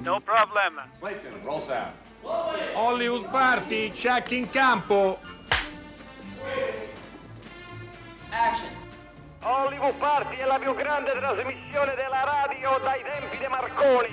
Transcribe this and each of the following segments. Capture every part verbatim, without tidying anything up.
No problem. Clayton, roll sound. Hollywood Party, check in campo. Action. Hollywood Party è la più grande trasmissione della radio dai tempi di Marconi.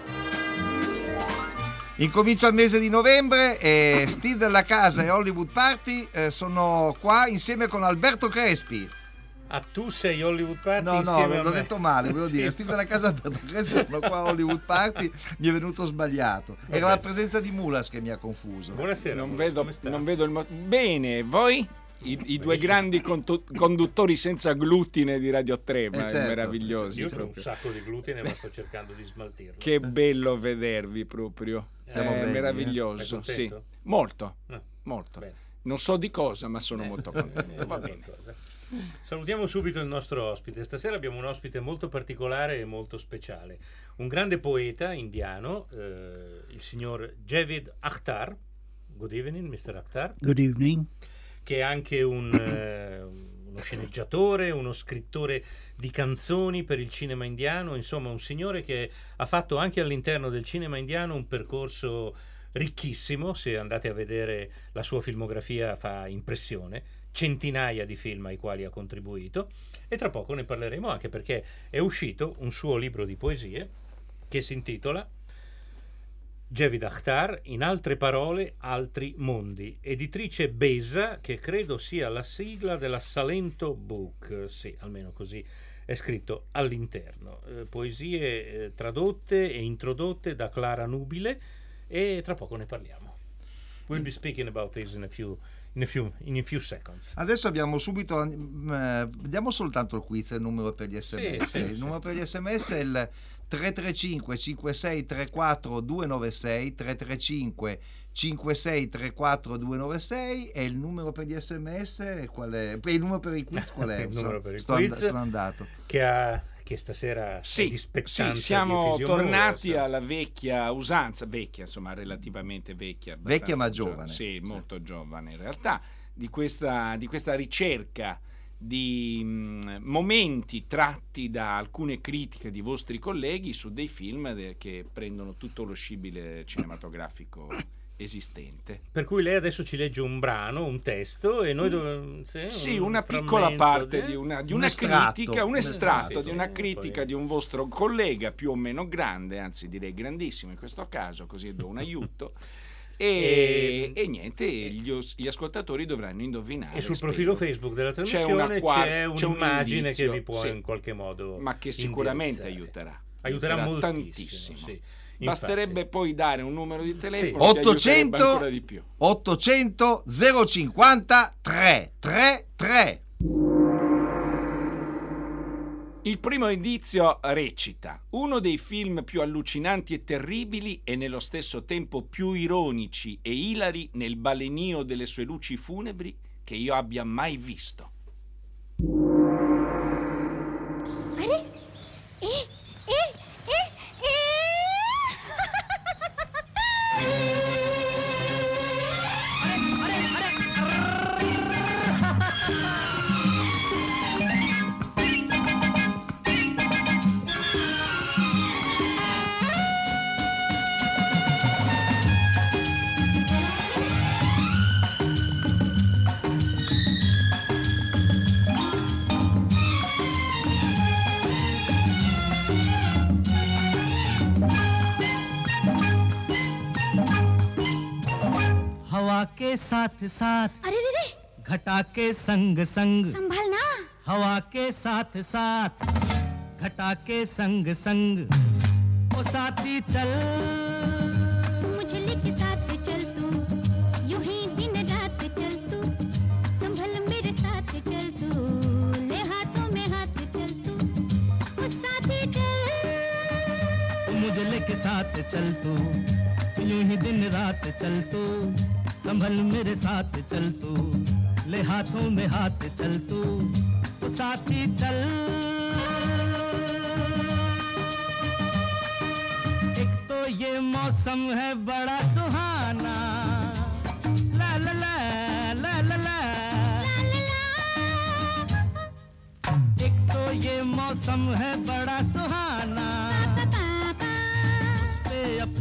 Incomincia il mese di novembre e Steve della Casa e Hollywood Party eh, sono qua insieme con Alberto Crespi. Ah, tu sei Hollywood Party? No, no, insieme a l'ho me. detto male, volevo Sì, dire Steve della Casa e Alberto Crespi sono qua a Hollywood Party, mi è venuto sbagliato. Era Vabbè. la presenza di Mulas che mi ha confuso. Buonasera. Non Mulas, vedo, come sta? non vedo il mo- bene, voi? I, i due grandi contu- conduttori senza glutine di Radio tre, ma Eh, certo. meravigliosi. Io ho un proprio. sacco di glutine ma sto cercando di smaltirlo. Che bello vedervi proprio. Siamo È belli, meraviglioso, eh? Sei sì. contento? Molto, Ah, molto. bene. Non so di cosa, ma sono Eh, molto eh, contento. eh, Va bene. qualcosa. Salutiamo subito il nostro ospite. Stasera abbiamo un ospite molto particolare e molto speciale. Un grande poeta indiano, eh, il signor Javid Akhtar. Good evening, mister Akhtar. Good evening. Che è anche un, eh, uno sceneggiatore, uno scrittore di canzoni per il cinema indiano, insomma un signore che ha fatto anche all'interno del cinema indiano un percorso ricchissimo. Se andate a vedere la sua filmografia fa impressione, centinaia di film ai quali ha contribuito, e tra poco ne parleremo anche perché è uscito un suo libro di poesie che si intitola Javid Akhtar, in altre parole, altri mondi, editrice Besa, che credo sia la sigla della Salento Book, sì, almeno così è scritto all'interno. Eh, poesie eh, tradotte e introdotte da Clara Nubile, e tra poco ne parliamo. We'll be speaking about this in a few, in a few, in a few seconds. Adesso abbiamo subito, eh, vediamo soltanto il quiz, il numero per gli sms. Sì, sì, il sì. numero per gli sms è il tre tre cinque cinque sei tre quattro due nove sei, tre tre cinque cinque sei tre quattro due nove sei, e il numero per gli sms qual è? Il numero per i quiz qual è? Il numero per il sto, quiz. sono andato. Che, ha, che stasera è Sì, di sì, spettanza, siamo di effisionosa. tornati alla vecchia usanza, vecchia, insomma, relativamente vecchia. abbastanza Vecchia ma gio- giovane. Sì, Sì. molto giovane in realtà, di questa, di questa ricerca di mh, momenti tratti da alcune critiche di vostri colleghi su dei film de- che prendono tutto lo scibile cinematografico esistente. Per cui lei adesso ci legge un brano, un testo, e noi dobbiamo... Sì, una piccola parte di una, di Un una estratto. critica, un Un estratto estratto, di una sì, critica poi- di un vostro collega più o meno grande, anzi direi grandissimo in questo caso, così do un aiuto. E, E- e niente, gli, os- gli ascoltatori dovranno indovinare. E sul spero. profilo Facebook della C'è trasmissione una c'è, qua- c'è un un'immagine indizio, che vi può sì. in qualche modo Ma che sicuramente indirizzare. aiuterà. Aiuterà moltissimo, tantissimo. sì. Basterebbe Infatti. poi dare un numero di telefono Sì. che aiuterebbe ottocento ancora di più. ottocento zero cinquanta tre tre tre. Il primo indizio recita: uno dei film più allucinanti e terribili e nello stesso tempo più ironici e ilari nel balenio delle sue luci funebri che io abbia mai visto. अरे ए ए ए हवा के साथ साथ अरे रे रे घटा के संग संग संभालना हवा के साथ साथ घटा के संग संग ओ साथी चल मुझे लेके साथ चल तू यूं ही दिन रात चल तू संभल मेरे साथ चल तू ले हाथों में हाथ चल तू ओ साथी चल मुझे लेके साथ चल तू यूं ही दिन रात चल तू संभल मेरे साथ चल तू ले हाथों में हाथ चल तू ओ साथी चल एक तो ये मौसम है बड़ा सुहाना ला ला ला ला ला ला एक तो ये मौसम है बड़ा सुहाना पे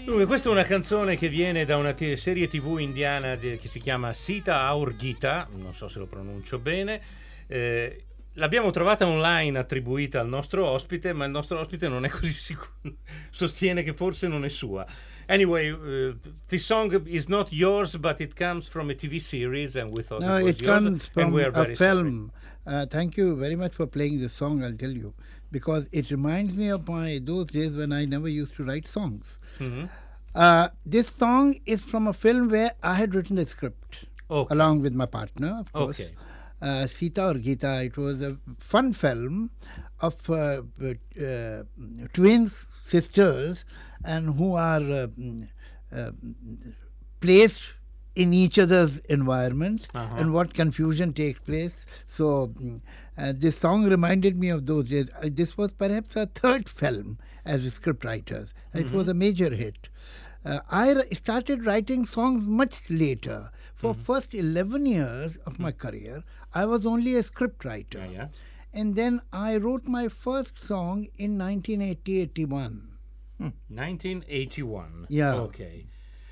Dunque, questa è una canzone che viene da una t- serie tv indiana de- che si chiama Sita Aur Gita, non so se lo pronuncio bene. Eh, l'abbiamo trovata online attribuita al nostro ospite, ma il nostro ospite non è così sicuro, sostiene che forse non è sua. Anyway, uh, the song is not yours, but it comes from a T V series, and we thought No, it was it yours, comes and from we are a very sorry. film. Uh, thank you very much for playing this song, I'll tell you, because it reminds me of my those days when I never used to write songs. Mhm. Uh, this song is from a film where I had written the script Okay. along with my partner, of course. Okay. Uh, Sita or Gita. It was a fun film of uh, uh, twin sisters and who are uh, mm, uh, placed in each other's environments Uh-huh. and what confusion takes place. So mm, uh, this song reminded me of those days. Uh, this was perhaps our third film as scriptwriters. It was a major hit. Uh, I r- started writing songs much later. For first eleven years of my career, I was only a scriptwriter. Yeah, yeah. And then I wrote my first song in nineteen eighty eighty-one. nineteen eighty-one. Yeah. Ok.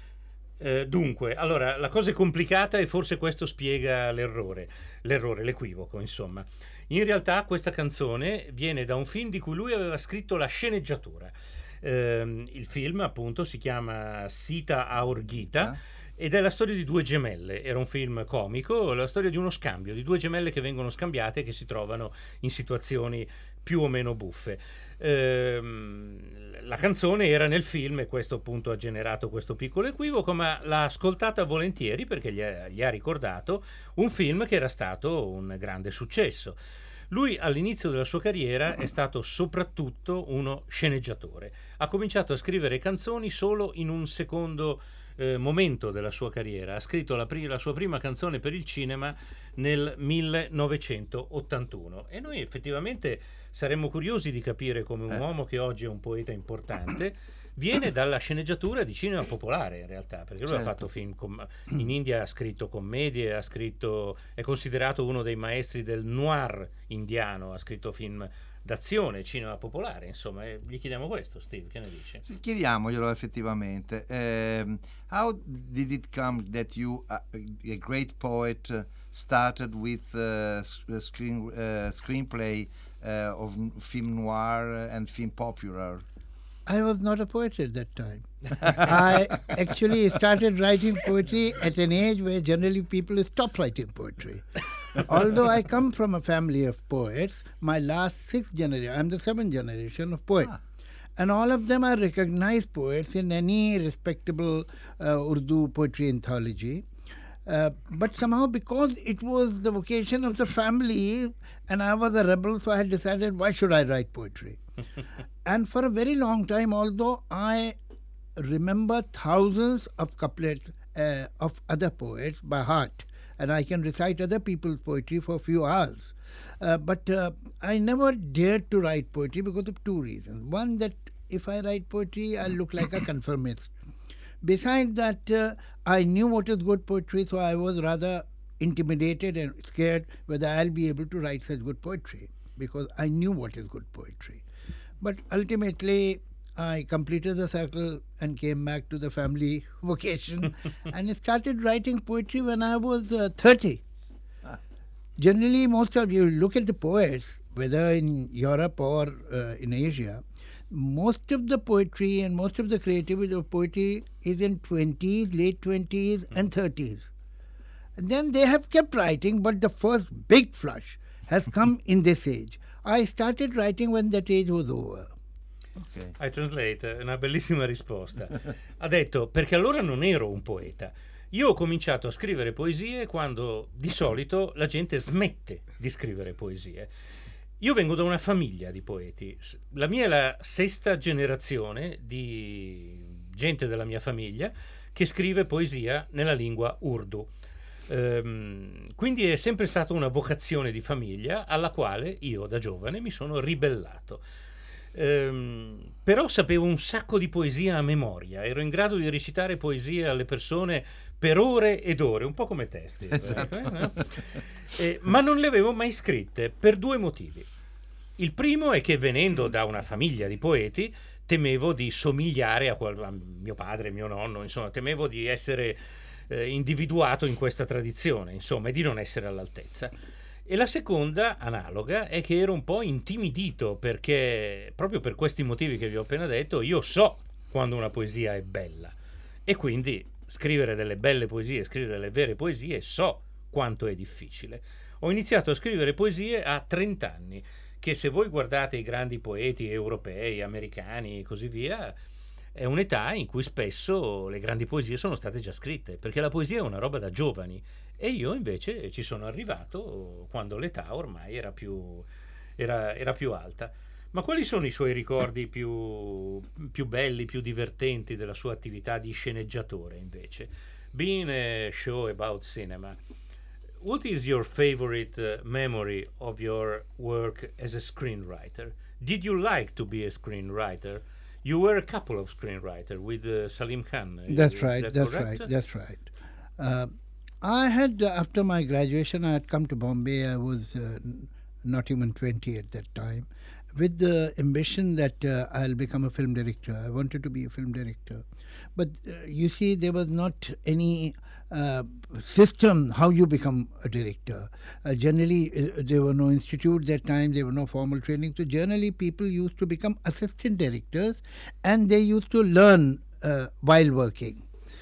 Eh, dunque, allora, la cosa è complicata e forse questo spiega l'errore, l'errore, l'equivoco, insomma. In realtà questa canzone viene da un film di cui lui aveva scritto la sceneggiatura. Ehm, il film, appunto, si chiama Sita Aur Gita. Ah. Ed è la storia di due gemelle, era un film comico, la storia di uno scambio, di due gemelle che vengono scambiate e che si trovano in situazioni più o meno buffe. Ehm, la canzone era nel film e questo appunto ha generato questo piccolo equivoco, ma l'ha ascoltata volentieri perché gli ha, gli ha ricordato un film che era stato un grande successo. Lui all'inizio della sua carriera è stato soprattutto uno sceneggiatore. Ha cominciato a scrivere canzoni solo in un secondo eh, momento della sua carriera. Ha scritto la, pri- la sua prima canzone per il cinema nel millenovecentottantuno e noi effettivamente saremmo curiosi di capire come un Eh. uomo che oggi è un poeta importante viene dalla sceneggiatura di cinema popolare, in realtà, perché lui Certo. ha fatto film com- in India, ha scritto commedie, ha scritto, è considerato uno dei maestri del noir indiano, ha scritto film d'azione, cinema popolare, insomma, e gli chiediamo questo, Steve, che ne dici? Sì, chiediamoglielo effettivamente. Ehm, how did it come that you, uh, a great poet, uh, started with uh, s- uh, screen uh, screenplay uh, of n- film noir and film popular? I was not a poet at that time. I actually started writing poetry at an age where generally people stop writing poetry. Although I come from a family of poets, my last six generation, I'm the seventh generation of poets. Ah. And all of them are recognized poets in any respectable uh, Urdu poetry anthology. Uh, but somehow, because it was the vocation of the family and I was a rebel, so I had decided, why should I write poetry? And for a very long time, although I remember thousands of couplets uh, of other poets by heart, and I can recite other people's poetry for a few hours, uh, but uh, I never dared to write poetry because of two reasons. One, that if I write poetry, I'll look like a conformist. Besides that, uh, I knew what is good poetry, so I was rather intimidated and scared whether I'll be able to write such good poetry, because I knew what is good poetry. But ultimately, I completed the circle and came back to the family vocation and started writing poetry when I was uh, thirty. Generally, most of you look at the poets, whether in Europe or uh, in Asia, most of the poetry and most of the creativity of poetry is in twenties, late twenties and thirties. And then they have kept writing, but the first big flush has come in this age. I started writing when that age was over. Ok. I translate, è una bellissima risposta. Ha detto, perché allora non ero un poeta. Io ho cominciato a scrivere poesie quando di solito la gente smette di scrivere poesie. Io vengo da una famiglia di poeti. La mia è la sesta generazione di gente della mia famiglia che scrive poesia nella lingua Urdu. Ehm, quindi è sempre stata una vocazione di famiglia alla quale io da giovane mi sono ribellato. Ehm, però sapevo un sacco di poesia a memoria, ero in grado di recitare poesie alle persone per ore ed ore, un po' come te, Steve, Esatto. eh, no? Eh, ma non le avevo mai scritte per due motivi. Il primo è che venendo da una famiglia di poeti temevo di somigliare a, qual- a mio padre, mio nonno, insomma, temevo di essere eh, individuato in questa tradizione, insomma, e di non essere all'altezza. E la seconda, analoga, è che ero un po' intimidito, perché proprio per questi motivi che vi ho appena detto, io so quando una poesia è bella, e quindi scrivere delle belle poesie, scrivere delle vere poesie, so quanto è difficile. Ho iniziato a scrivere poesie a trenta anni, che se voi guardate i grandi poeti europei, americani e così via, è un'età in cui spesso le grandi poesie sono state già scritte, perché la poesia è una roba da giovani, e io invece ci sono arrivato quando l'età ormai era più, era, era più alta. Ma quali sono i suoi ricordi più, più belli, più divertenti della sua attività di sceneggiatore invece? Being a show about cinema, what is your favorite uh, memory of your work as a screenwriter? Did you like to be a screenwriter? You were a couple of screenwriters with uh, Salim Khan. That's is right, that that's correct? right, that's right. Uh, I had, uh, after my graduation, I had come to Bombay. I was uh, n- not even twenty at that time, with the ambition that uh, I'll become a film director. I wanted to be a film director. But uh, you see, there was not any uh, system how you become a director. Uh, generally, uh, there were no institute that time, there were no formal training. So generally, people used to become assistant directors, and they used to learn uh, while working.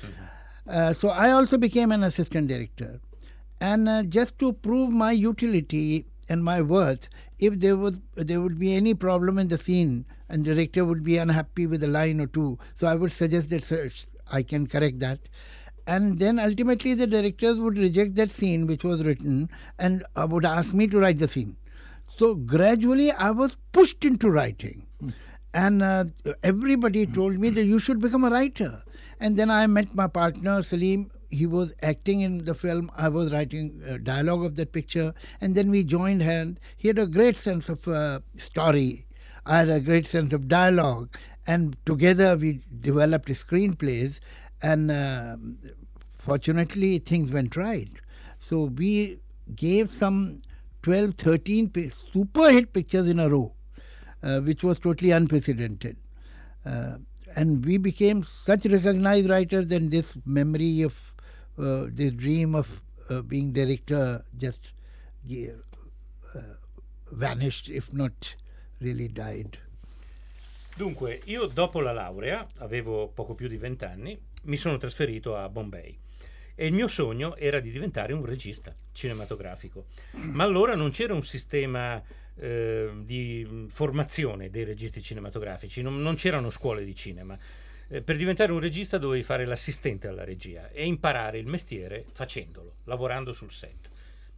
Uh, so I also became an assistant director. And uh, just to prove my utility and my worth, if there would there would be any problem in the scene and the director would be unhappy with a line or two, so I would suggest that sir, I can correct that. And then ultimately the directors would reject that scene which was written and uh, would ask me to write the scene. So gradually I was pushed into writing. And uh, everybody told me that you should become a writer. And then I met my partner, Salim. He was acting in the film. I was writing uh, dialogue of that picture. And then we joined hands. He had a great sense of uh, story. I had a great sense of dialogue. And together we developed screenplays. And uh, fortunately, things went right. So we gave some twelve, thirteen pi- super hit pictures in a row. Uh, which was totally unprecedented. Uh, and we became such recognized writers, and this memory of, uh, this dream of uh, being director just uh, vanished, if not really died. Dunque, io dopo la laurea, avevo poco più di vent'anni, mi sono trasferito a Bombay. E il mio sogno era di diventare un regista cinematografico. Ma allora non c'era un sistema eh, di formazione dei registi cinematografici, non, non c'erano scuole di cinema. Eh, per diventare un regista dovevi fare l'assistente alla regia e imparare il mestiere facendolo, lavorando sul set.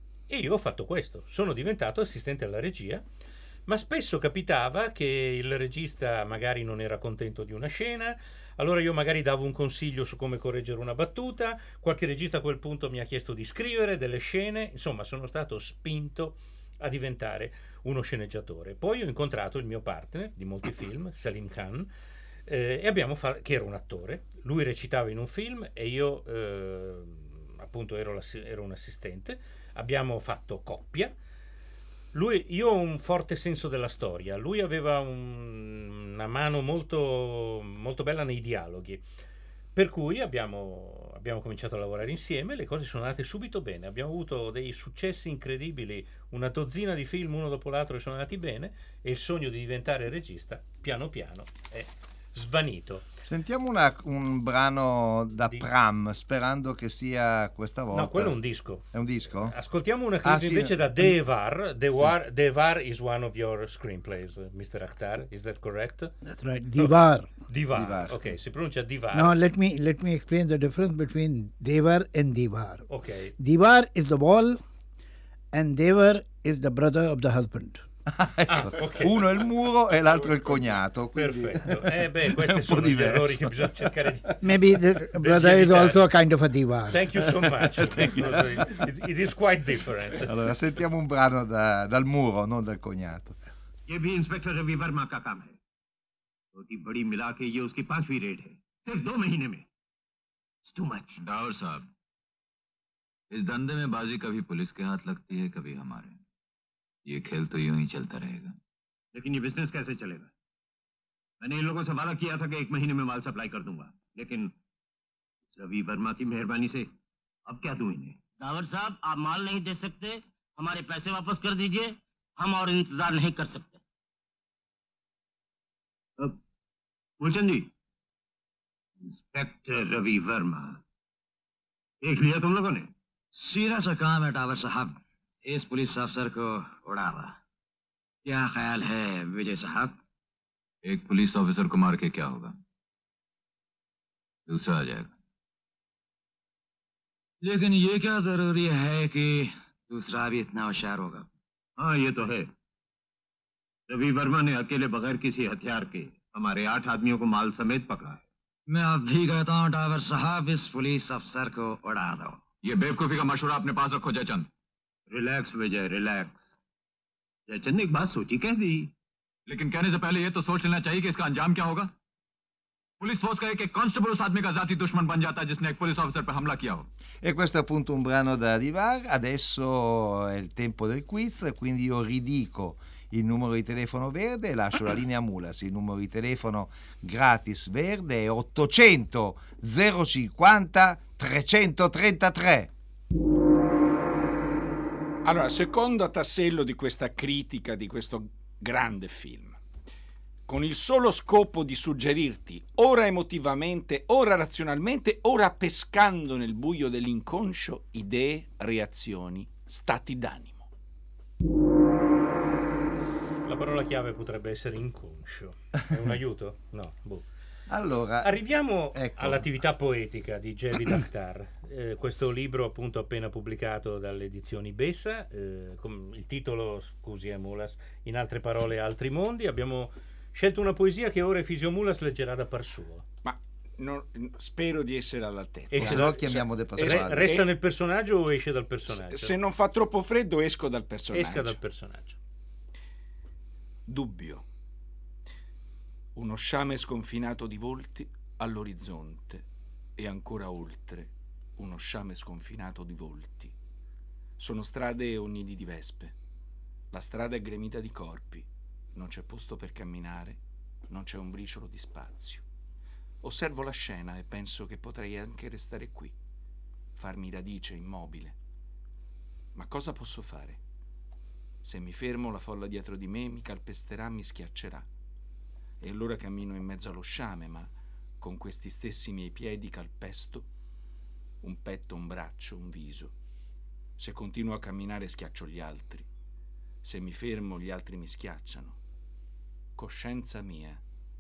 E io ho fatto questo, sono diventato assistente alla regia, ma spesso capitava che il regista magari non era contento di una scena. Allora io magari davo un consiglio su come correggere una battuta, qualche regista a quel punto mi ha chiesto di scrivere delle scene, insomma sono stato spinto a diventare uno sceneggiatore. Poi ho incontrato il mio partner di molti film, Salim Khan, eh, e abbiamo fa- che era un attore, lui recitava in un film e io eh, appunto ero, ero un assistente, abbiamo fatto coppia. Lui, io ho un forte senso della storia, lui aveva un, una mano molto, molto bella nei dialoghi, per cui abbiamo, abbiamo cominciato a lavorare insieme, le cose sono andate subito bene, abbiamo avuto dei successi incredibili, una dozzina di film uno dopo l'altro che sono andati bene e il sogno di diventare regista piano piano è svanito. Sentiamo una, un brano da Di- Pram, sperando che sia questa volta. No, quello è un disco. È un disco? Ascoltiamo una clip Ah, sì. invece da Devar. Devar, Devar is one of your screenplays, mister Akhtar. Is that correct? That's right, Divar. Divar. Divar. Ok, si pronuncia Divar. Now let me let me explain the difference between Devar and Divar. Ok. Divar is the wall, and Devar is the brother of the husband. Ecco, ok. uno è il muro e l'altro è il cognato. quindi Perfetto. Eh beh, è questi un po' sono gli diverso. errori che bisogna cercare di... Maybe the brother is evitare. also a kind of a Divar. Thank you so much. it, it is quite different. Allora, sentiamo un brano da- dal muro, non dal cognato. ये भी इंस्पेक्टर रवि वर्मा का काम है। छोटी बड़ी मिला के ये उसकी पांचवी रेड है, सिर्फ दो महीने में। It's too much. डावर साहब, इस धंधे में बाजी कभी पुलिस के हाथ लगती है, कभी हमारे। ये खेल तो यूं ही चलता रहेगा। लेकिन ये बिजनेस कैसे चलेगा? मैंने इन लोगों से वादा किया था कि एक महीने में माल सप्लाई कर दूंगा, लेकिन रवि वर्मा की मेहरबानी से अब क्या दूं इन्हें? दावर साहब, आप माल नहीं दे सकते, हमारे पैसे वापस कर दीजिए, हम और इंतजार नहीं कर सकते। अब मूलचंद जी, इंस्पेक्टर रवि वर्मा देख लिया तुम लोगों ने? सीधा सा काम है टावर साहब, इस पुलिस अफसर को उड़ावा। क्या ख्याल है विजय साहब? एक पुलिस ऑफिसर को मार के क्या होगा, दूसरा आ जाएगा। लेकिन ये क्या जरूरी है कि दूसरा भी इतना होशियार होगा? हाँ, ये तो है। रवि वर्मा ने अकेले बगैर किसी हथियार के हमारे आठ आदमियों को माल समेत पकड़ा है। मैं अब भी कहता हूँ टावर साहब, इस पुलिस अफसर को उड़ा दो। ये बेवकूफी का मशवरा अपने पास रखो जयचंद। रिलैक्स विजय, रिलैक्स। जयचंद ने एक बात सोची कह दी, लेकिन कहने से पहले ये तो सोच लेना चाहिए कि इसका अंजाम क्या होगा। पुलिस फोर्स का एक एक कांस्टेबल उस आदमी का जाती दुश्मन बन जाता है जिसने एक पुलिस ऑफिसर पर हमला किया हो। E questo è appunto un brano da Divar. Adesso è il tempo del quiz, quindi io ridico il numero di telefono verde e lascio la linea Mulas. Il numero di telefono gratis verde è ottocento zero cinquanta trecentotrentatré. Allora, secondo tassello di questa critica di questo grande film, con il solo scopo di suggerirti, ora emotivamente, ora razionalmente, ora pescando nel buio dell'inconscio, idee, reazioni, stati d'animo. La parola chiave potrebbe essere inconscio. È un aiuto? No, boh. Allora, arriviamo ecco. all'attività poetica di Javid Akhtar. Eh, questo libro appunto appena pubblicato dalle edizioni Bessa, eh, com- il titolo, scusi, è Mulas, in altre parole altri mondi. Abbiamo scelto una poesia che ora Efisio Mulas leggerà da par suo. Ma non, spero di essere all'altezza. Esce se da- no chiamiamo De Pasquale. Re- resta nel personaggio o esce dal personaggio? Se, se non fa troppo freddo esco dal personaggio. Esca dal personaggio. Dubbio. Uno sciame sconfinato di volti all'orizzonte e ancora oltre uno sciame sconfinato di volti. Sono strade o nidi di vespe. La strada è gremita di corpi. Non c'è posto per camminare, non c'è un briciolo di spazio. Osservo la scena e penso che potrei anche restare qui, farmi radice immobile. Ma cosa posso fare? Se mi fermo, la folla dietro di me mi calpesterà, mi schiaccerà. E allora cammino in mezzo allo sciame, ma con questi stessi miei piedi calpesto un petto, un braccio, un viso. Se continuo a camminare schiaccio gli altri. Se mi fermo, gli altri mi schiacciano. Coscienza mia,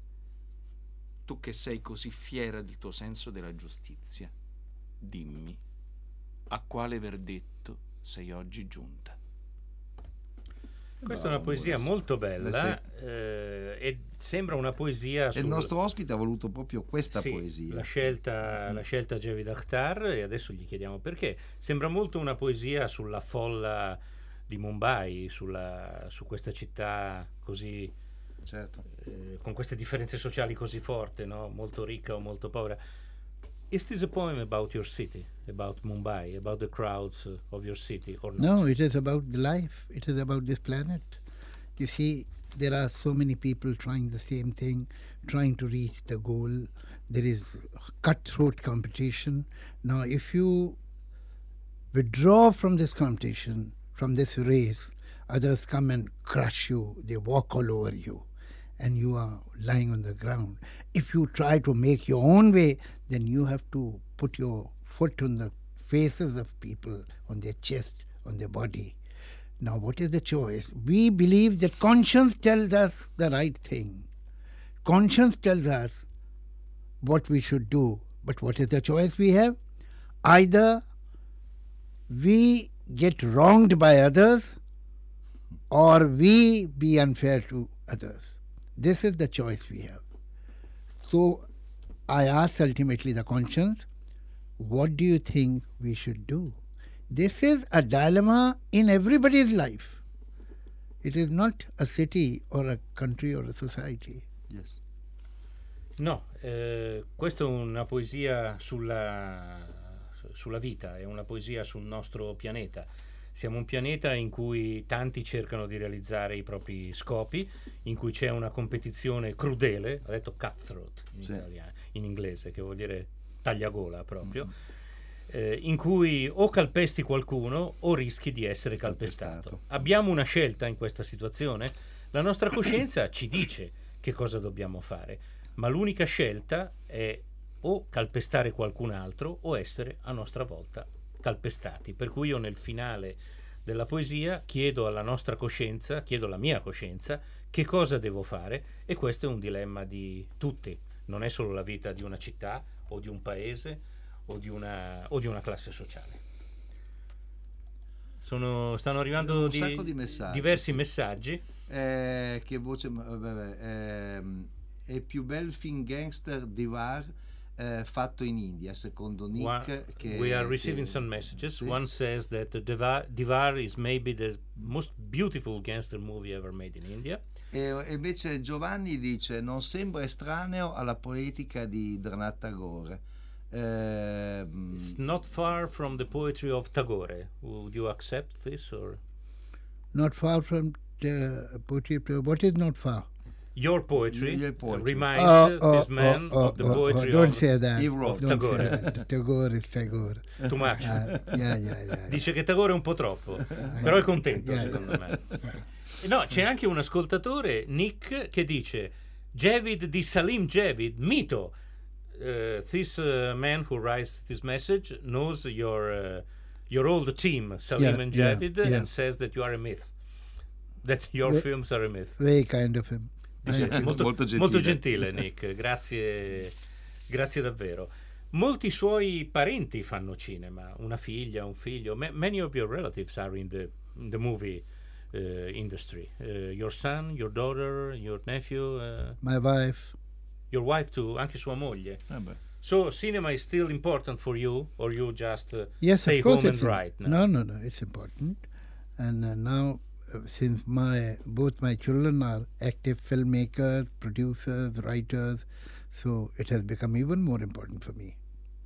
tu che sei così fiera del tuo senso della giustizia, dimmi a quale verdetto sei oggi giunta. Questa è una poesia molto bella eh, e sembra una poesia E sul... il nostro ospite ha voluto proprio questa Sì, poesia. La scelta, la scelta Javid Akhtar, e adesso gli chiediamo perché. Sembra molto una poesia sulla folla di Mumbai, sulla, su questa città così, certo. eh, con queste differenze sociali così forti, no? Molto ricca o molto povera. Is this a poem about your city, about Mumbai, about the crowds of your city, or not? No, it is about the life. It is about this planet. You see, there are so many people trying the same thing, trying to reach the goal. There is cutthroat competition. Now, if you withdraw from this competition, from this race, others come and crush you. They walk all over you, and you are lying on the ground. If you try to make your own way, then you have to put your foot on the faces of people, on their chest, on their body. Now, what is the choice? We believe that conscience tells us the right thing. Conscience tells us what we should do. But what is the choice we have? Either we get wronged by others or we be unfair to others. This is the choice we have. So I asked ultimately the conscience, what do you think we should do? This is a dilemma in everybody's life. It is not a city or a country or a society. Yes. No, eh, questa è una poesia sulla, sulla vita, è una poesia sul nostro pianeta. Siamo un pianeta in cui tanti cercano di realizzare i propri scopi, in cui c'è una competizione crudele, ha detto cutthroat in, Sì. italiano, in inglese, che vuol dire tagliagola proprio, mm. eh, in cui o calpesti qualcuno o rischi di essere calpestato. calpestato. Abbiamo una scelta in questa situazione? La nostra coscienza ci dice che cosa dobbiamo fare, ma l'unica scelta è o calpestare qualcun altro o essere a nostra volta calpestati. Per cui io nel finale della poesia chiedo alla nostra coscienza, chiedo alla mia coscienza che cosa devo fare, e questo è un dilemma di tutti, non è solo la vita di una città o di un paese o di una, o di una classe sociale. Sono, stanno arrivando un di, sacco di messaggi, diversi sì. messaggi. Eh, che voce, vabbè, ehm, è il più bel film gangster Divar eh, fatto in India, secondo Nick. One, che, we are receiving che, some messages. sì. One says that Divar, Divar is maybe the most beautiful gangster movie ever made in India. E, e invece Giovanni dice: non sembra estraneo alla politica di Rabindranath Tagore. Ehm, It's not far from the poetry of Tagore. Would you accept this, or Not far from the poetry of Tagore. What is not far? your poetry, Your poetry. reminds Oh, oh, this man oh, of the oh, poetry oh, don't of, say that. He wrote. of Don't Tagore. say that. Tagore is Tagore. Too much. Uh, yeah, yeah, yeah, yeah. Dice che Tagore è un po' troppo, però è contento, Yeah, secondo yeah. me. No, c'è anche un ascoltatore, Nick, che dice: Javid di Salim Javid, mito. Uh, this uh, man who writes this message knows your uh, your old team, Salim Yeah, and yeah, Javid, yeah. and says that you are a myth, that your Ve- films are a myth. Very kind of him. Dice, Thank you. molto, Molto gentile. molto gentile Nick, grazie, grazie davvero. Molti suoi parenti fanno cinema, una figlia, un figlio. Ma- many of your relatives are in the, in the movie uh, industry. Uh, your son, your daughter, your nephew, uh, My wife. your wife too, anche sua moglie. eh beh. So cinema is still important for you, or you just uh, Yes, stay of course home and it's write im- now? No, no, no, it's important. And uh, now, uh, since my both my children are active filmmakers, producers, writers, so it has become even more important for me.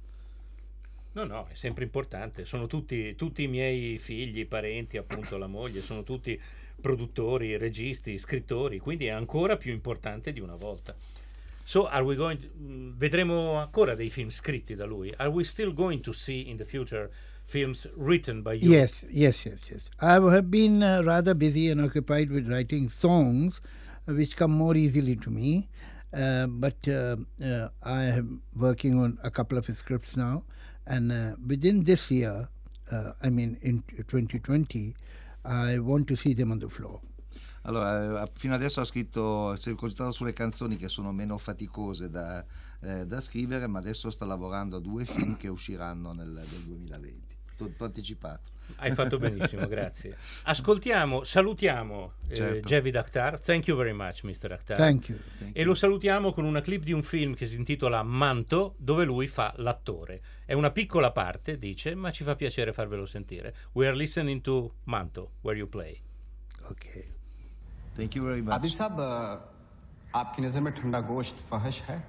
No, no, è sempre importante. Sono tutti, tutti i miei figli, parenti, appunto la moglie, sono tutti produttori, registi, scrittori, quindi è ancora più importante di una volta. So, are we going to, mh, vedremo ancora dei film scritti da lui? Are we still going to see in the future films written by you? Yes, yes, yes, yes. I have been uh, rather busy and occupied with writing songs, uh, which come more easily to me. Uh, but uh, uh, I am working on a couple of scripts now, and uh, within this year, uh, I mean in twenty twenty, I want to see them on the floor. Allora, eh, fino adesso ha scritto, si è concentrato sulle canzoni che sono meno faticose da, eh, da scrivere, ma adesso sta lavorando a due film che usciranno nel, nel duemilaventi. T'ho anticipato. Hai fatto benissimo, grazie. Ascoltiamo, salutiamo eh, Certo. Javid Akhtar. Thank you very much, mister Akhtar. Thank you. Thank E you. lo salutiamo con una clip di un film che si intitola Manto, dove lui fa l'attore. È una piccola parte, dice, ma ci fa piacere farvelo sentire. We are listening to Manto, where you play. Okay. Thank you very much. Abid साहब आपकी नज़र में ठंडा गोश्त फहश है?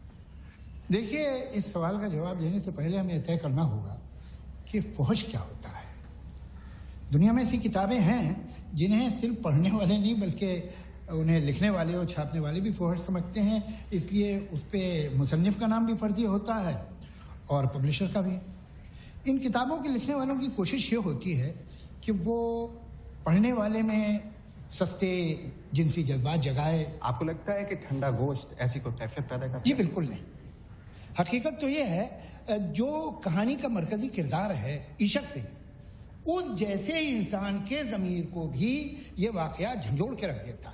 देखिए, इस सवाल का जवाब देने से पहले हमें तय करना होगा कि फहश क्या होता है। दुनिया में ऐसी किताबें हैं जिन्हें सिर्फ पढ़ने वाले नहीं बल्कि उन्हें लिखने वाले और छापने वाले भी फहश समझते हैं, इसलिए उस पर मुसन्निफ का नाम भी फर्जी होता है और पब्लिशर का भी। इन किताबों के लिखने वालों की कोशिश ये होती है कि वो पढ़ने वाले में सस्ते जिनसी जज्बात जगाए। आपको लगता है कि ठंडा गोश्त ऐसी कोई कैफियत पैदा करता है? जी बिल्कुल नहीं। हकीकत तो ये है, जो कहानी का मरकजी किरदार है ईशक सिंह, उस जैसे इंसान के ज़मीर को भी ये वाकया झंझोड़ के रख देता है।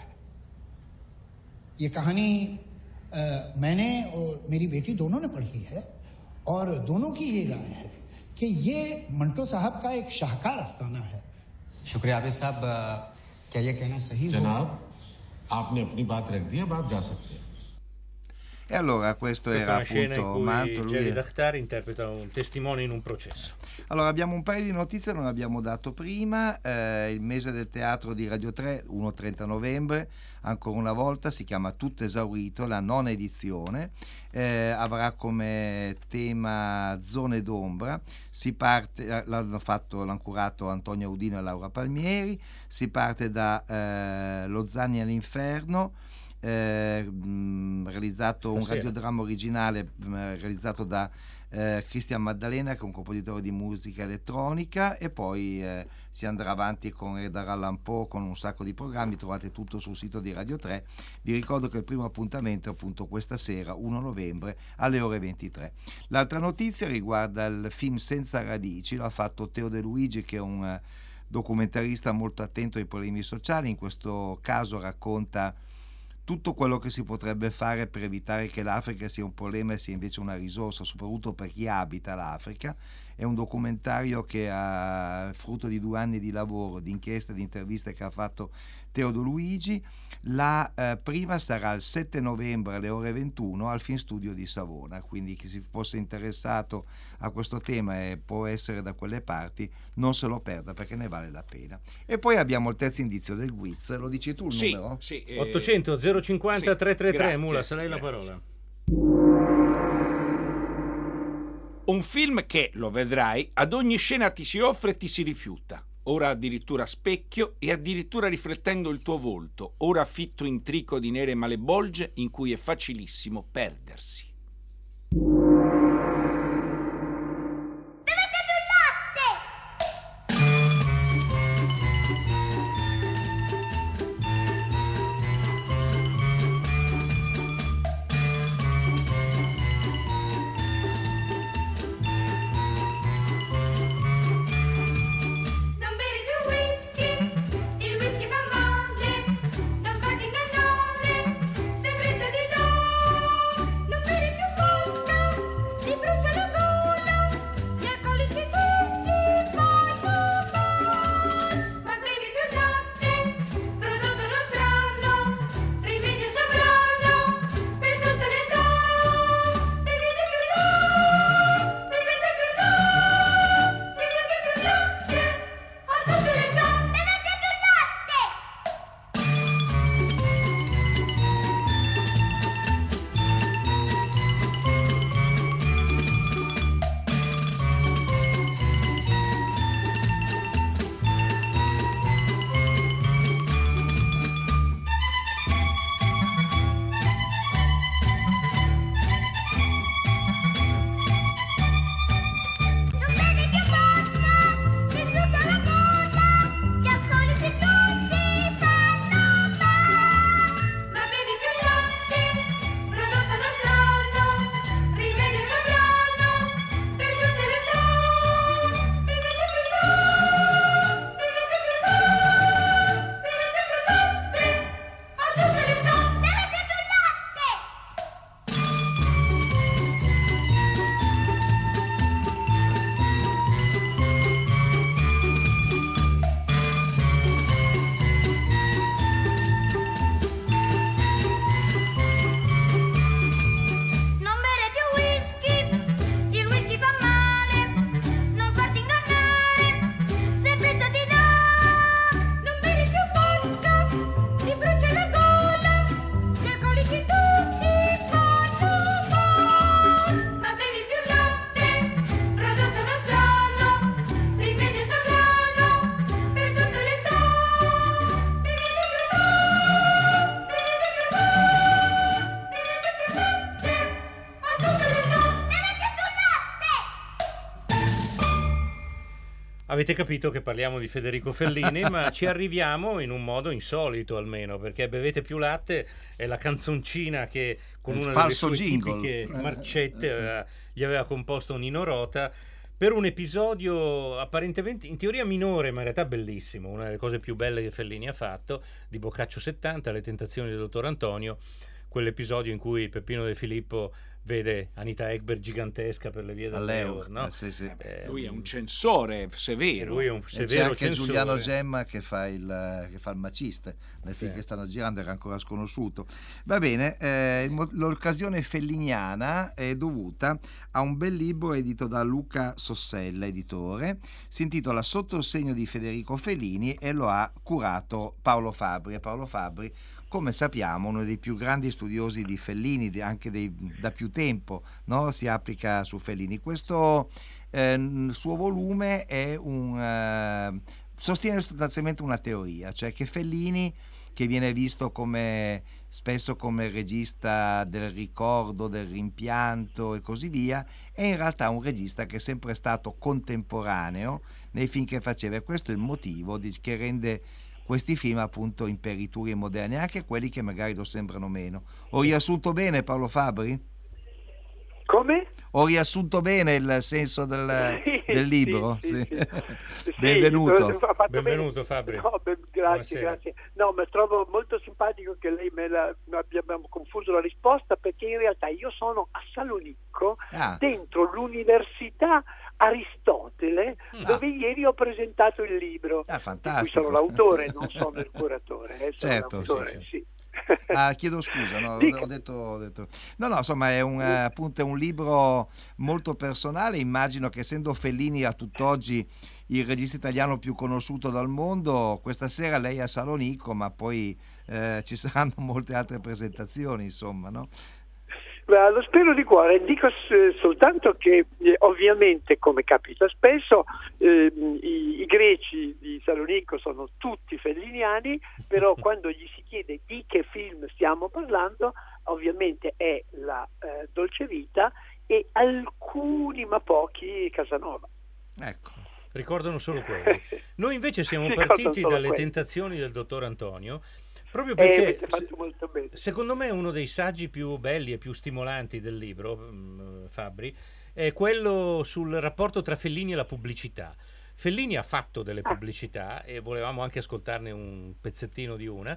ये कहानी आ, मैंने और मेरी बेटी दोनों ने पढ़ी है और दोनों की ये राय है कि ये मंटो साहब का एक शाहकार अफसाना है। शुक्रिया आबिद साहब, क्या ये कहना सही है? जनाब, आपने अपनी बात रख दी, अब आप जा सकते हैं। E allora questo, Questa era è una scena in appunto cui Manto. lui Geli è- Dakhtar interpreta un testimone in un processo. Allora, abbiamo un paio di notizie che non abbiamo dato prima. Eh, il mese del teatro di Radio tre, primo trenta novembre, ancora una volta si chiama Tutto esaurito, la nona edizione. Eh, avrà come tema Zone d'ombra. Si parte, l'hanno fatto, l'hanno curato Antonio Audino e Laura Palmieri. Si parte da eh, Lo Zanni all'inferno. Eh, mh, realizzato un Stasera. radiodramma originale mh, realizzato da eh, Cristian Maddalena, che è un compositore di musica elettronica, e poi eh, si andrà avanti con Edgar Allan Poe, con un sacco di programmi. Trovate tutto sul sito di Radio tre. Vi ricordo che il primo appuntamento è appunto questa sera, primo novembre, alle ore ventitré. L'altra notizia riguarda il film Senza radici. L'ha fatto Teo De Luigi, che è un eh, documentarista molto attento ai problemi sociali. In questo caso racconta tutto quello che si potrebbe fare per evitare che l'Africa sia un problema e sia invece una risorsa, soprattutto per chi abita l'Africa. È un documentario che è frutto di due anni di lavoro, di inchieste, di interviste che ha fatto Teodo Luigi. La eh, prima sarà il sette novembre alle ore ventuno al Film Studio di Savona, quindi chi si fosse interessato a questo tema e può essere da quelle parti, non se lo perda, perché ne vale la pena. E poi abbiamo il terzo indizio del Guiz. Lo dici tu il Sì, numero? sì, eh, ottocento zero cinquanta sì, trecentotrentatré. grazie, Mula, se lei la grazie. parola. Un film che, lo vedrai, ad ogni scena ti si offre e ti si rifiuta. Ora addirittura specchio e addirittura riflettendo il tuo volto, ora fitto in trico di nere malebolge in cui è facilissimo perdersi. Non bevi più whisky, il whisky fa male, non farti ingannare, se brezza di no. Non bevi più vodka, ti brucia la gola, gli alcolici tutti fanno male. Ma bevi più latte, prodotto nostrano, rimedio sovrano, per tutte le età. Bevete più latte, bevete più latte, bevete più latte. A tutte le età, bevete più latte! Non bevi più vodka, ti brucia la gola, gli alcolici tutti fanno male. Ma bevi più latte, prodotto nostrano, rimedio sovrano, per tutte le età. Bevete più latte, bevete più latte, bevete più latte. A tutte le età, bevete più latte! Non bere più whisky, il whisky fa male, non farti ingannare, se brezza ti dà. Non bevi più vodka, ti brucia la gola, gli alcolici tutti fanno male. Ma bevi più latte, prodotto nostrano, rimedio sovrano, per tutte le età. Bevete più latte, bevete più latte, bevete più latte. A tutte le età, bevete più latte! Avete capito che parliamo di Federico Fellini, ma ci arriviamo in un modo insolito almeno, perché Bevete più latte è la canzoncina che con Il una delle falso sue jingle. tipiche marcette aveva- gli aveva composto Nino Rota per un episodio apparentemente in teoria minore, ma in realtà bellissimo, una delle cose più belle che Fellini ha fatto, di Boccaccio settanta, Le tentazioni del dottor Antonio, quell'episodio in cui Peppino De Filippo vede Anita Ekberg gigantesca per le vie dell'Eur, no? eh, sì, sì. Eh, Lui è un censore severo. Lui è un E severo c'è anche censore. Giuliano Gemma che fa il, che fa il maciste nel film Sì. che stanno girando, era ancora sconosciuto. Va bene, eh, il mo- l'occasione felliniana è dovuta a un bel libro edito da Luca Sossella, editore, si intitola Sotto il segno di Federico Fellini e lo ha curato Paolo Fabbri. E Paolo Fabbri, come sappiamo, uno dei più grandi studiosi di Fellini, di- anche dei, da più tempo, no? Si applica su Fellini. Questo eh, suo volume è un, eh, sostiene sostanzialmente una teoria, cioè che Fellini, che viene visto come spesso come regista del ricordo, del rimpianto e così via, è in realtà un regista che è sempre stato contemporaneo nei film che faceva, e questo è il motivo di, che rende questi film appunto imperituri e moderni, anche quelli che magari lo sembrano meno. Ho riassunto bene, Paolo Fabbri? Come? Ho riassunto bene il senso del, Sì, del libro? sì, Sì. sì. Benvenuto. Sì, ha fatto Benvenuto bene. Fabbri. No, beh, grazie, Buonasera. grazie. No, ma trovo molto simpatico che lei me la abbiamo confuso la risposta, perché in realtà io sono a Salonicco, Ah. dentro l'università Aristotele, Ah. dove ieri ho presentato il libro. Ah, Di cui fantastico. sono l'autore, non sono il curatore. Eh, sono Certo, l'autore, sì, sì. sì. Ah, chiedo scusa, no, Dica. ho, detto, ho detto. No, no, insomma, è un, eh, appunto, è un libro molto personale. Immagino che, essendo Fellini a tutt'oggi il regista italiano più conosciuto dal mondo, questa sera lei è a Salonicco, ma poi eh, ci saranno molte altre presentazioni, insomma, no? Beh, lo spero di cuore. Dico s- soltanto che eh, ovviamente, come capita spesso, eh, i, i greci di Salonicco sono tutti felliniani, però quando gli si chiede di che film stiamo parlando, ovviamente è la eh, Dolce Vita e alcuni, ma pochi, Casanova. Ecco. Ricordano solo quelli. Noi invece siamo Ricordano partiti solo dalle quelli. tentazioni del dottor Antonio, proprio Eh, perché avete fatto molto bene. secondo me uno dei saggi più belli e più stimolanti del libro, mh, Fabbri, è quello sul rapporto tra Fellini e la pubblicità. Fellini ha fatto delle pubblicità e volevamo anche ascoltarne un pezzettino di una,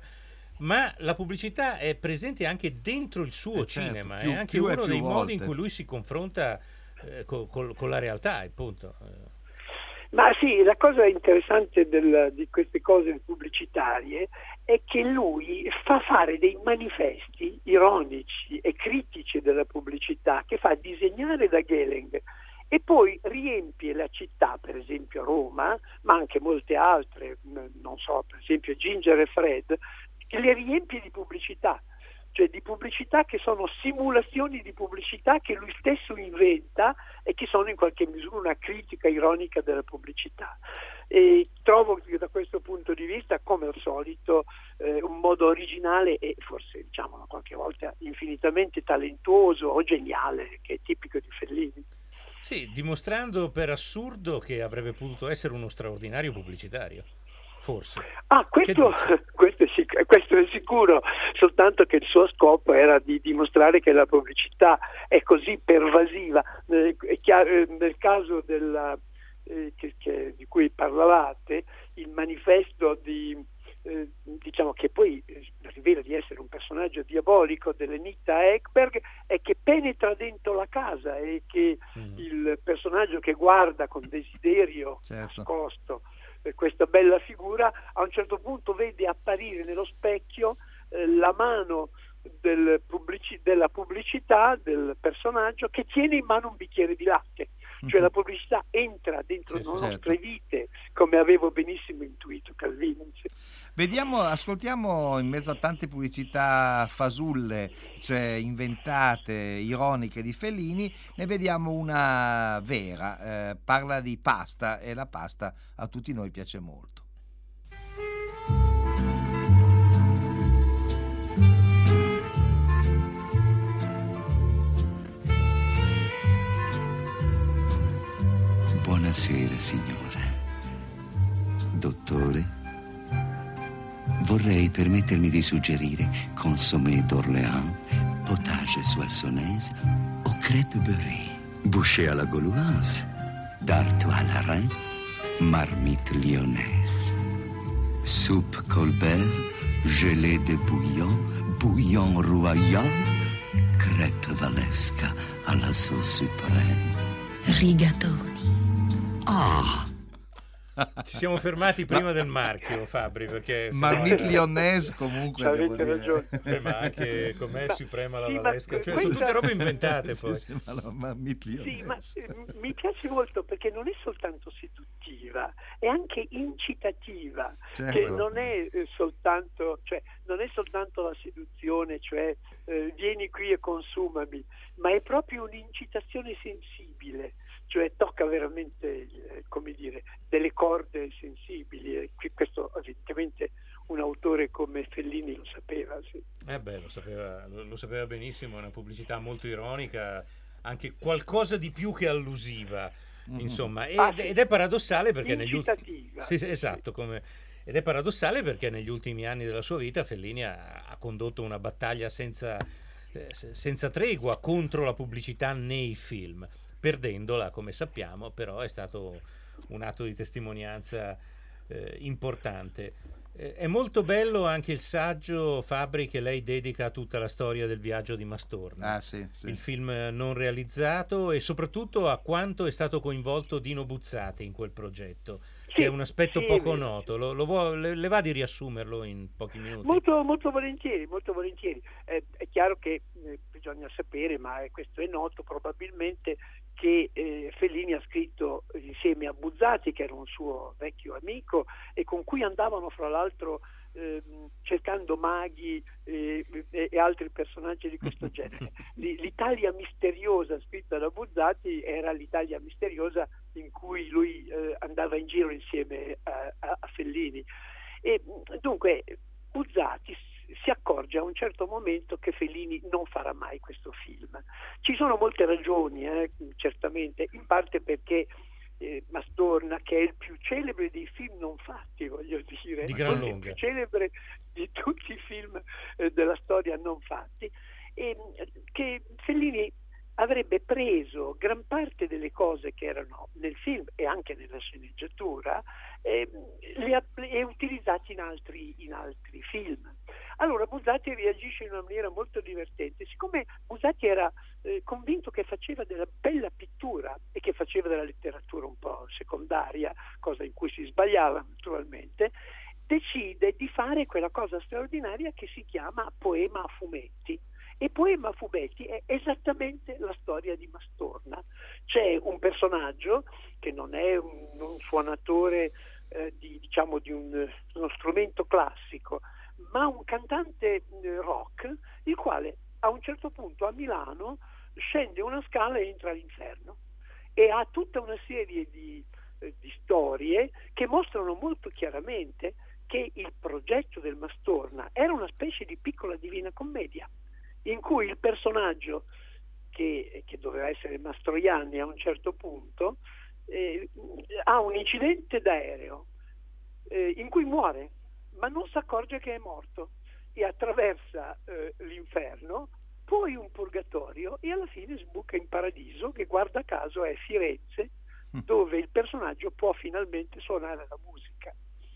ma la pubblicità è presente anche dentro il suo Eh, certo, cinema, più- è anche più e uno più dei modi volte. in cui lui si confronta eh, co- col- con la realtà, appunto. Eh, Ma sì, la cosa interessante del- di queste cose pubblicitarie è che lui fa fare dei manifesti ironici e critici della pubblicità, che fa disegnare da Gehling, e poi riempie la città, per esempio Roma, ma anche molte altre, mh, non so, per esempio Ginger e Fred, che le riempie di pubblicità. Cioè di pubblicità che sono simulazioni di pubblicità che lui stesso inventa e che sono in qualche misura una critica ironica della pubblicità. E trovo che da questo punto di vista, come al solito, eh, un modo originale e forse, diciamo, qualche volta infinitamente talentuoso o geniale, che è tipico di Fellini. Sì, dimostrando per assurdo che avrebbe potuto essere uno straordinario pubblicitario. Forse. Ah, questo, questo, è sic- questo è sicuro, soltanto che il suo scopo era di dimostrare che la pubblicità è così pervasiva. Eh, è chiaro, eh, nel caso della, eh, che, che, di cui parlavate, il manifesto di, eh, diciamo che poi eh, rivela di essere un personaggio diabolico dell'Anita Ekberg, è che penetra dentro la casa e che mm. il personaggio che guarda con desiderio certo. nascosto questa bella figura, a un certo punto vede apparire nello specchio eh, la mano del pubblici- della pubblicità del personaggio che tiene in mano un bicchiere di latte, cioè mm-hmm. la pubblicità entra dentro sì, le nostre certo. vite, come avevo benissimo intuito Calvino. Vediamo, ascoltiamo, in mezzo a tante pubblicità fasulle, cioè inventate, ironiche di Fellini, ne vediamo una vera, eh, parla di pasta, e la pasta a tutti noi piace molto. Buonasera, signora. Dottore? Vorrei permettermi di suggerire consommé d'Orléans, potage soissonnaise o crêpe beurrée, bouchée à la gauloise, d'Artois à la reine, marmite lyonnaise, soupe Colbert, gelée de bouillon, bouillon royal, crêpe Walewska alla sauce supreme. Rigatoni. Ah! Ci siamo fermati prima del marchio, Fabri, perché Marmite lyonnaise comunque devo Avete dire. ragione. Eh, ma anche com'è Ma- suprema la sì, ma Valesca, cioè, questa- sono tutte robe inventate Sì, poi. sì, ma la Marmite Sì, ma lyonnaise. eh, mi piace molto perché non è soltanto seduttiva, è anche incitativa, Certo. che non è eh, soltanto, cioè, non è soltanto la seduzione, cioè eh, vieni qui e consumami, ma è proprio un'incitazione sensibile, cioè tocca veramente, eh, come dire, delle corde sensibili, e qui- questo evidentemente un autore come Fellini lo sapeva, sì. Eh beh, lo sapeva, lo, lo sapeva benissimo, è una pubblicità molto ironica, anche qualcosa di più che allusiva, insomma, ed, Ah, sì. ed è paradossale perché negli ultimi... Incitativa. Sì, sì, esatto, come... ed è paradossale perché negli ultimi anni della sua vita Fellini ha, ha condotto una battaglia senza, eh, se- senza tregua contro la pubblicità nei film, perdendola, come sappiamo, però è stato un atto di testimonianza eh, importante. Eh, è molto bello anche il saggio, Fabri, che lei dedica a tutta la storia del viaggio di Mastorna, Ah, sì, sì. il film non realizzato, e soprattutto a quanto è stato coinvolto Dino Buzzati in quel progetto, che è un aspetto sì, poco è vero. noto. Lo, lo vuo- le, le va di riassumerlo in pochi minuti? Molto, molto volentieri, molto volentieri. Eh, è chiaro che eh, bisogna sapere, ma eh, questo è noto probabilmente, che eh, Fellini ha scritto insieme a Buzzati, che era un suo vecchio amico e con cui andavano fra l'altro ehm, cercando maghi eh, e, e altri personaggi di questo genere. L- L'Italia misteriosa scritta da Buzzati era l'Italia misteriosa in cui lui eh, andava in giro insieme a, a, a Fellini. E dunque Buzzati si accorge a un certo momento che Fellini non farà mai questo film. Ci sono molte ragioni, eh, certamente, in parte perché eh, Mastorna, che è il più celebre dei film non fatti, voglio dire, Di gran forse il lunga. più celebre di tutti i film eh, della storia non fatti, e che Fellini avrebbe preso gran parte delle cose che erano nel film e anche nella sceneggiatura e le ha e utilizzati in altri, in altri film. Allora Buzzati reagisce in una maniera molto divertente. Siccome Buzzati era eh, convinto che faceva della bella pittura e che faceva della letteratura un po' secondaria, cosa in cui si sbagliava naturalmente, decide di fare quella cosa straordinaria che si chiama poema a fumetti. E Poema a fumetti è esattamente la storia di Mastorna. C'è un personaggio che non è un, un suonatore eh, di, diciamo, di un, uno strumento classico, ma un cantante eh, rock, il quale a un certo punto a Milano scende una scala e entra all'inferno, e ha tutta una serie di, eh, di storie che mostrano molto chiaramente che il progetto del Mastorna era una specie di piccola Divina Commedia, in cui il personaggio che, che doveva essere Mastroianni a un certo punto eh, ha un incidente d'aereo eh, in cui muore, ma non si accorge che è morto, e attraversa eh, l'inferno, poi un purgatorio, e alla fine sbuca in paradiso, che guarda caso è Firenze, dove il personaggio può finalmente suonare la musica.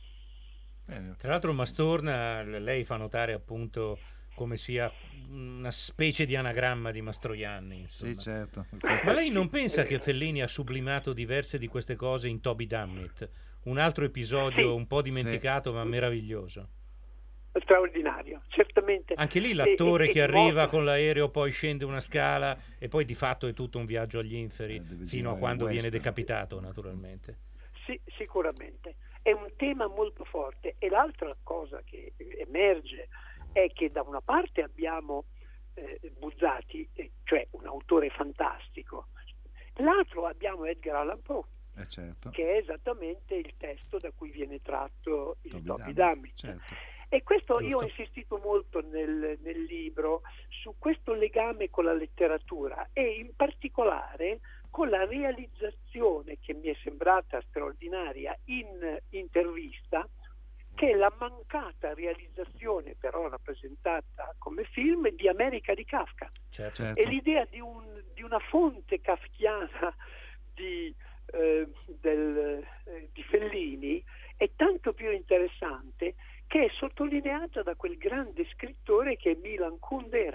Tra l'altro Mastorna, lei fa notare appunto come sia una specie di anagramma di Mastroianni, insomma. Sì, certo. Ma lei non pensa che Fellini ha sublimato diverse di queste cose in Toby Dammit, un altro episodio Sì. un po' dimenticato ma meraviglioso? Straordinario, certamente. Anche lì E- l'attore e- che e arriva mostra- con l'aereo, poi scende una scala e poi di fatto è tutto un viaggio agli inferi, fino a girare quando il viene western. decapitato, naturalmente. Sì, sicuramente. È un tema molto forte, e l'altra cosa che emerge è che da una parte abbiamo eh, Buzzati, eh, cioè un autore fantastico, l'altro abbiamo Edgar Allan Poe, Eh, certo. che è esattamente il testo da cui viene tratto il Toby Toby Dammit, Dammit. certo. E questo io ho Giusto. insistito molto nel, nel libro su questo legame con la letteratura, e in particolare con la realizzazione, che mi è sembrata straordinaria in intervista, che è la mancata realizzazione, però rappresentata come film, di America di Kafka. Certo. Certo. E l'idea di, un, di una fonte kafkiana di, eh, del, eh, di Fellini è tanto più interessante, che è sottolineata da quel grande scrittore che è Milan Kundera.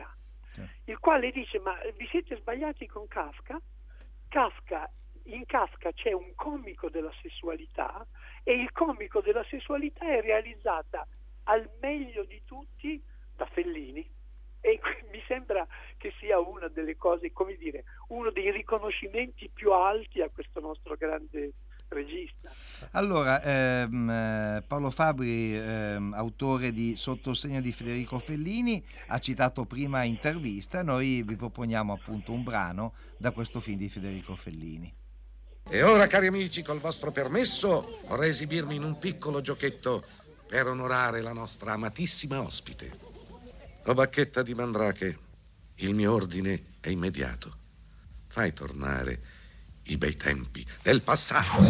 il quale dice: ma vi siete sbagliati con Kafka? Kafka in Kafka c'è un comico della sessualità, e il comico della sessualità è realizzata al meglio di tutti da Fellini, e mi sembra che sia una delle cose, come dire, uno dei riconoscimenti più alti a questo nostro grande regista. Allora, ehm, Paolo Fabbri, ehm, autore di Sotto il segno di Federico Fellini, ha citato prima Intervista. Noi vi proponiamo appunto un brano da questo film di Federico Fellini. E ora, cari amici, col vostro permesso, vorrei esibirmi in un piccolo giochetto per onorare la nostra amatissima ospite. O Bacchetta di Mandrake, il mio ordine è immediato. Fai tornare i bei tempi del passato.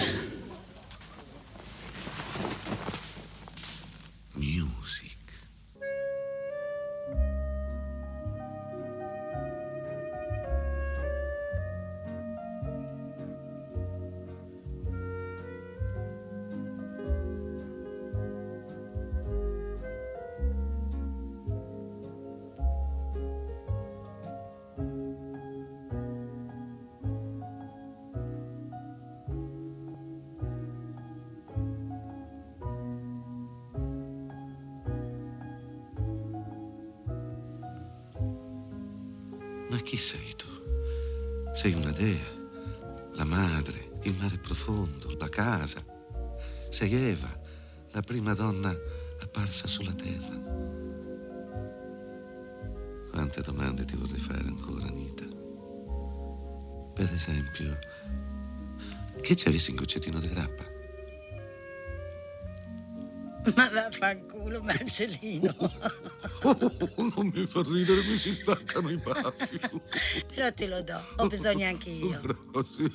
Music. Ma chi sei tu? Sei una dea, la madre, il mare profondo, la casa. Sei Eva, la prima donna apparsa sulla terra. Quante domande ti vorrei fare ancora, Anita? Per esempio, che ci avessi in goccettino di grappa? Ma vaffanculo, Marcellino. Oh, non mi fa ridere, mi si staccano i baffi. Però te lo do, ho bisogno anche io. Grazie.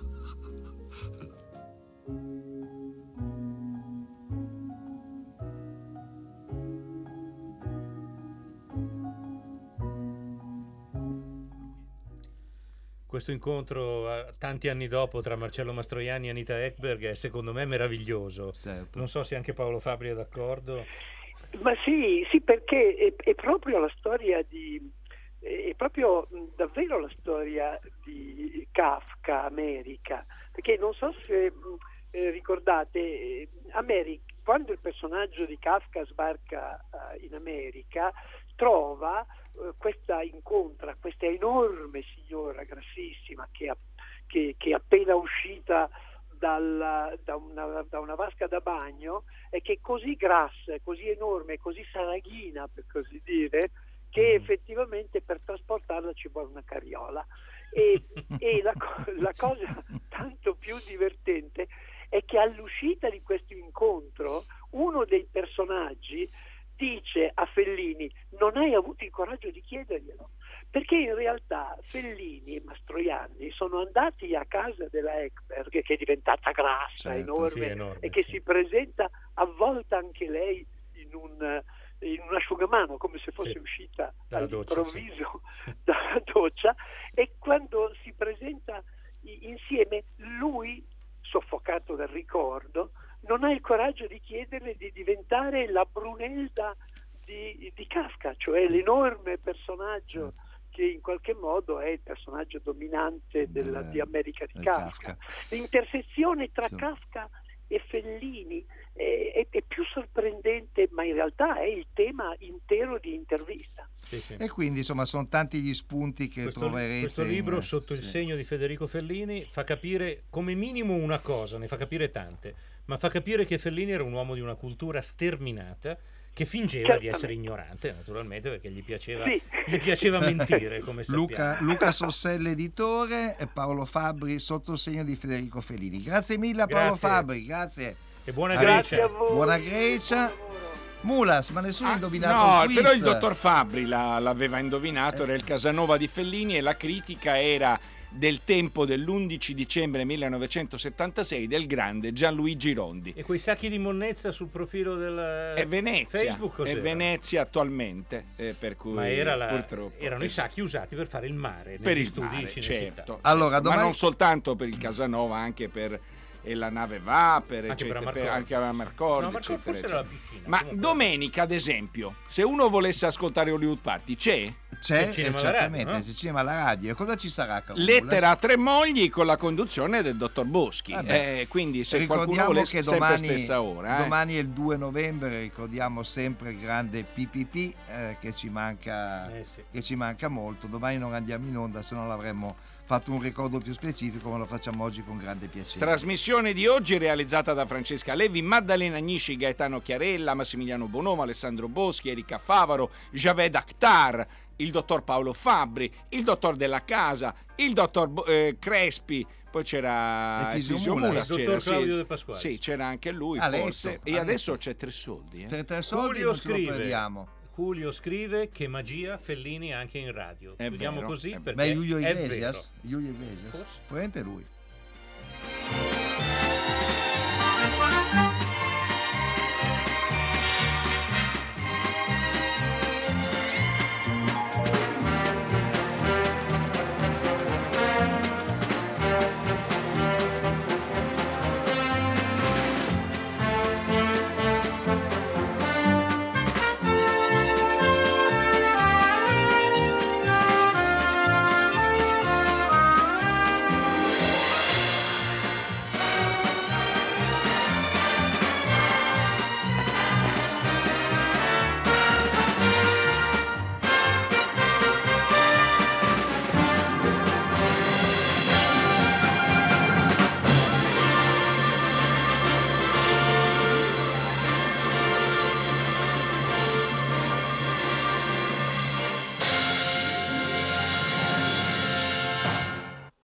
Questo incontro eh, tanti anni dopo tra Marcello Mastroianni e Anita Ekberg è secondo me meraviglioso. Certo. Non so se anche Paolo Fabbri è d'accordo. Ma sì, sì, perché è, è proprio la storia di è proprio davvero la storia di Kafka, America, perché non so se eh, ricordate, eh, America, quando il personaggio di Kafka sbarca eh, in America, trova eh, questa incontra questa enorme signora grassissima che, che, che è appena uscita dalla, da, una, da una vasca da bagno, e che è così grassa, così enorme, così saraghina, per così dire, che effettivamente per trasportarla ci vuole una carriola. E, e la, la cosa tanto più divertente è che all'uscita di questo incontro uno dei personaggi dice a Fellini: non hai avuto il coraggio di chiederglielo, perché in realtà Fellini e Mastroianni sono andati a casa della Ekberg, che è diventata grassa, certo, enorme, sì, enorme, e che sì. si presenta avvolta anche lei in un, in un asciugamano, come se fosse sì. uscita Dalla all'improvviso doccia, sì. dalla doccia, e quando si presenta insieme, lui, soffocato dal ricordo, non ha il coraggio di chiederle di diventare la Brunelda di, di Kafka, cioè l'enorme personaggio che in qualche modo è il personaggio dominante della, di America di Kafka. Kafka. L'intersezione tra sì. Kafka e Fellini è, è, è più sorprendente, ma in realtà è il tema intero di Intervista. Sì, sì. E quindi insomma sono tanti gli spunti che questo, troverete. Questo libro, in... Sotto sì. il segno di Federico Fellini, fa capire come minimo una cosa, ne fa capire tante, ma fa capire che Fellini era un uomo di una cultura sterminata, che fingeva Certamente. di essere ignorante, naturalmente, perché gli piaceva, sì. gli piaceva mentire, come sappiamo. Luca, Luca Sossella, editore, e Paolo Fabbri, Sotto il segno di Federico Fellini. Grazie mille a Paolo Grazie. Fabbri, grazie. E buona Grazie Grecia. a voi. Buona Grecia. Mulas, ma nessuno ha Ah, indovinato no, il quiz. però il dottor Fabbri la- l'aveva indovinato, era il Casanova di Fellini, e la critica era del Tempo dell'undici dicembre millenovecentosettantasei del grande Gianluigi Rondi. E quei sacchi di monnezza sul profilo del È Venezia, Facebook è cos'era? Venezia attualmente, eh, per cui Ma era la- purtroppo erano i eh, sacchi usati per fare il mare per negli il studi mare, di Cinecittà. certo, Allora, certo. domani- ma non soltanto per il Casanova, anche per E la nave va, per Anche eccetera, per per, Amarcord. anche a Amarcord, No, Amarcord eccetera, forse era eccetera. la piscina, Ma comunque. domenica, ad esempio, se uno volesse ascoltare Hollywood Party, c'è? C'è, il cinema eh, alla radio, certamente, no? c'è il cinema alla radio. E cosa ci sarà, Carola? Lettera a tre mogli con la conduzione del dottor Boschi. Vabbè. Eh, quindi se qualcuno Ricordiamo vuole che sempre domani, stessa ora. eh. domani è il due novembre, ricordiamo sempre il grande P P P eh, che ci manca Eh, sì. che ci manca molto. Domani non andiamo in onda, se non l'avremmo fatto un ricordo più specifico, ma lo facciamo oggi con grande piacere. Trasmissione di oggi realizzata da Francesca Levi, Maddalena Agnisci, Gaetano Chiarella, Massimiliano Bonomo, Alessandro Boschi, Erika Favaro, Javed Akhtar, il dottor Paolo Fabbri, il dottor Della Casa, il dottor Bo- eh, Crespi, poi c'era E Fisio Fisio Mula. Mula, Il dottor c'era, Claudio sì, De Pasquale. sì, c'era anche lui Ha letto, forse. ha E adesso letto. c'è tre soldi. eh. Tre, tre soldi Julio non ce lo scrive, perdiamo. Julio scrive che magia Fellini anche in radio. È Chiudiamo vero, così è vero. perché Ma è Julio è Iglesias? vero. Julio Iglesias? Forse. Probabilmente lui.